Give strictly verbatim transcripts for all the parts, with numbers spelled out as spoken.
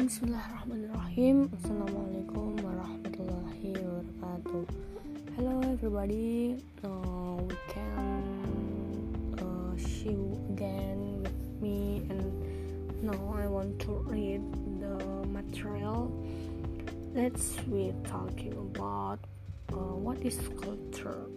Bismillahirrahmanirrahim. Assalamualaikum warahmatullahi wabarakatuh. Hello everybody. Uh, we can uh, see you again with me, and now I want to read the material. Let's we talking about uh, what is culture.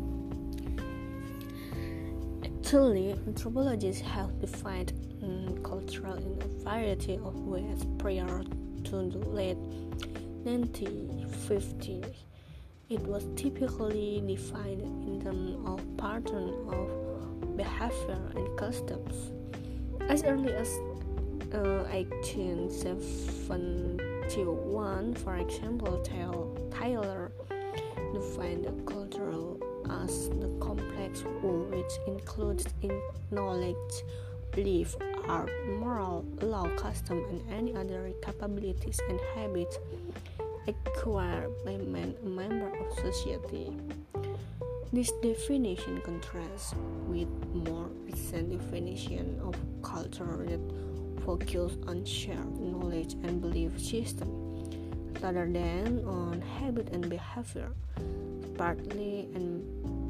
Actually, anthropologists have defined um, culture in a variety of ways prior to the late nineteen fifties. It was typically defined in terms of pattern of behavior and customs. As early as uh, eighteen seventy-one, for example, Taylor defined the cultural as the complex whole which includes in knowledge, belief, art, moral, law, custom, and any other capabilities and habits acquired by man, a member of society. This definition contrasts with more recent definition of culture that focus on shared knowledge and belief system rather than on habit and behavior. Partly and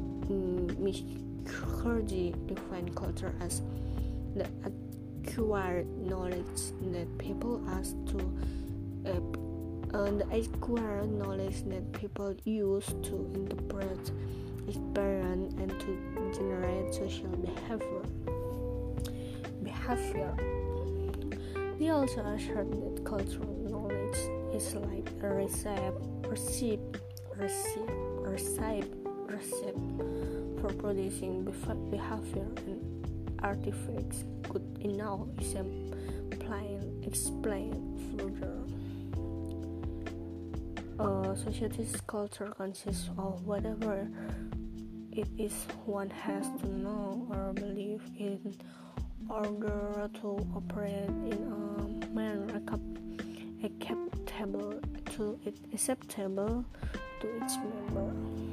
Mukherjee defined culture as the acquired knowledge that people ask to uh, uh, the acquired knowledge that people use to interpret experience and to generate social behavior. Behavior. They also assert that cultural knowledge is like a recipe, recipe, recipe, recipe, recipe for producing behavior and artifacts good enough explain, explain further. A society's culture consists of whatever it is one has to know or believe in order to operate in a manner acceptable to it, acceptable to its member.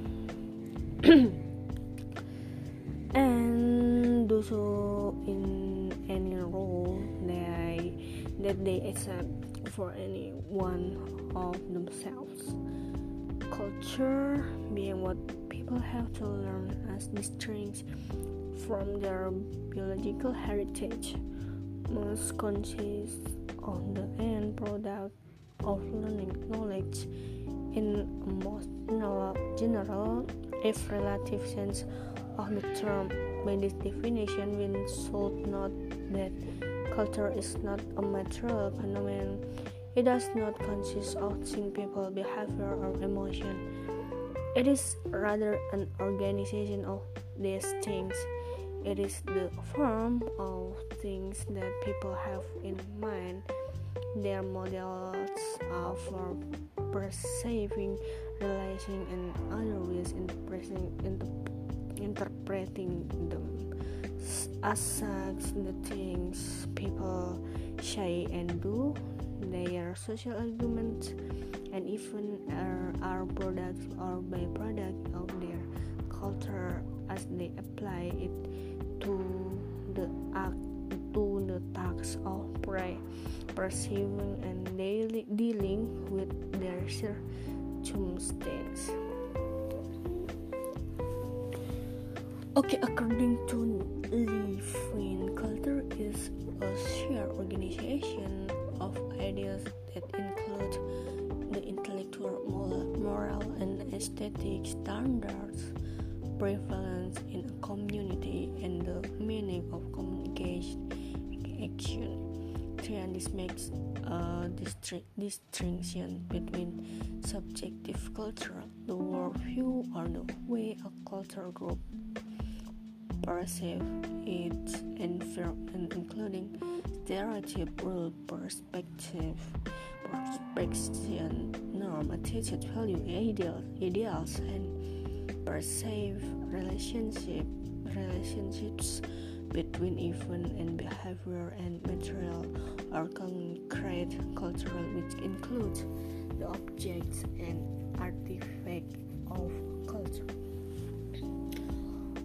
And do so in any role they, that they accept for any one of themselves. Culture, being what people have to learn as distinct from their biological heritage, must consist of the end product of learning knowledge in a most general, if relative sense of the term. By this definition, we should note that culture is not a material phenomenon. It does not consist of things, people, behavior, or emotion. It is rather an organization of these things. It is the form of things that people have in mind. Their models are for perceiving, realizing, and other ways interpreting, interpreting them. As such, the things people say and do, their social arguments, and even are, are products or byproducts of their culture as they apply it to the act, to the task of pre- perceiving and daily dealing with their circumstances. Okay, according to Levin, culture is a shared organization of ideas that include the intellectual, moral, and aesthetic standards prevalent in a community and the meaning of communication action. And this makes a distri- distinction between subjective culture, the worldview, or the way a cultural group perceive its environment, including stereotype, rule, perspective, perception, norm, attitude, value, ideal, ideals, and perceived relationship, relationships between event and behavior and material or concrete cultural, which includes the objects and artifacts of culture.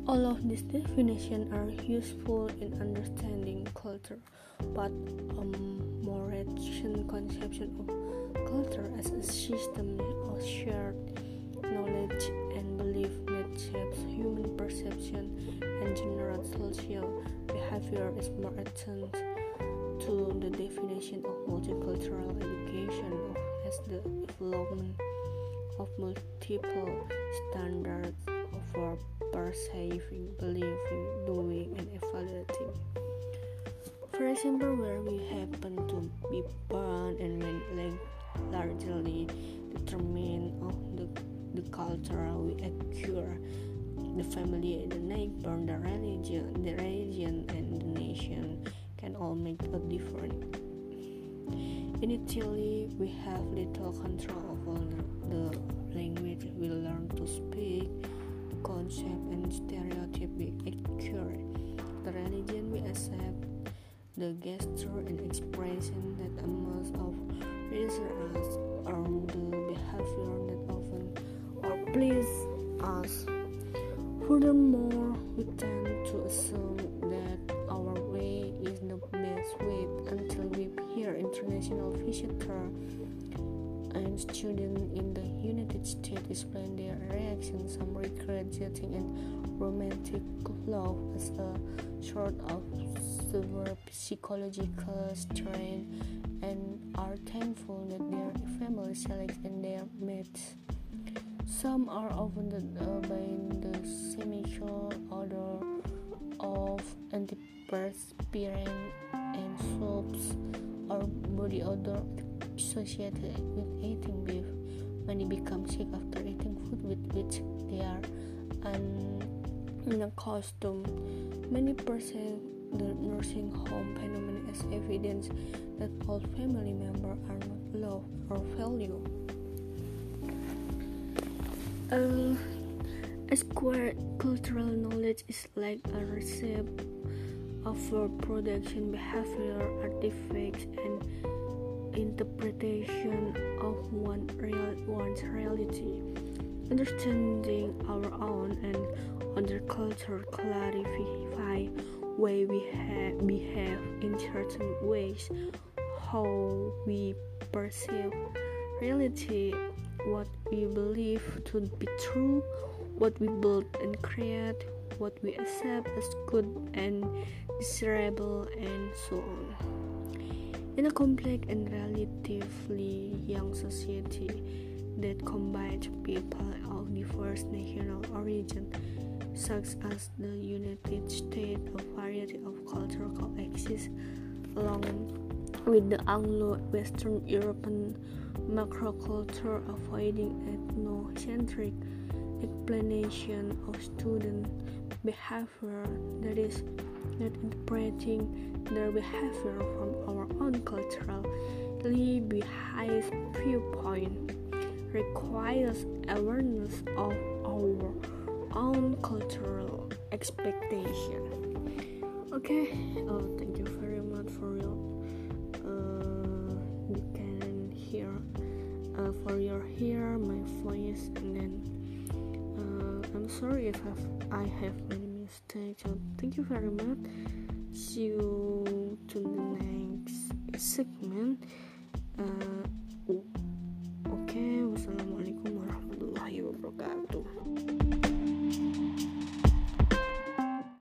All of these definitions are useful in understanding culture, but a more recent conception of culture as a system of shared knowledge and belief that shapes human perception and general social behavior is more attuned to the definition of multicultural education as the development of multiple standards for perceiving, believing, doing, and evaluating. For example, where we happen to be born and when largely determined of the, the culture we acquire, the family, the neighbor, the religion, the region, and the nation can all make a difference. Initially, we have little control over the language we learn to speak, concept and stereotype we acquire, the religion we accept, the gesture and expression that emerge of reassure us, or the behavior that often or please us. Furthermore, we tend to assume that our way is the best way until we hear international visitors and students in the United States explain their reactions. Some regret dating and romantic love as a sort of severe psychological strain and are thankful that their family selects and their mates. Some are offended uh, by the seminal odor of antiperspirant and soaps or body odor associated with eating beef. Many become sick after eating food with which they are unaccustomed. Many perceive the nursing home phenomenon as evidence that all family members are not loved or valued. Uh, acquired cultural knowledge is like a recipe of production behavior, artifacts, and interpretation of one real, one's reality. Understanding our own and other culture clarify way we ha- behave in certain ways, how we perceive reality, what we believe to be true, what we build and create, what we accept as good and desirable, and so on. In a complex and relatively young society that combines people of diverse national origin, such as the United States, a variety of cultures coexist along with the Anglo-Western European macroculture, avoiding ethnocentric explanation of student behavior, that is, not interpreting their behavior from our own culturally biased viewpoint, requires awareness of our own cultural expectation. Okay, oh, thank you very much for your uh, you can hear uh, for your hear my voice, and then uh, I'm sorry if I've, I have many mistakes. So thank you very much. See you to the next segment. Uh,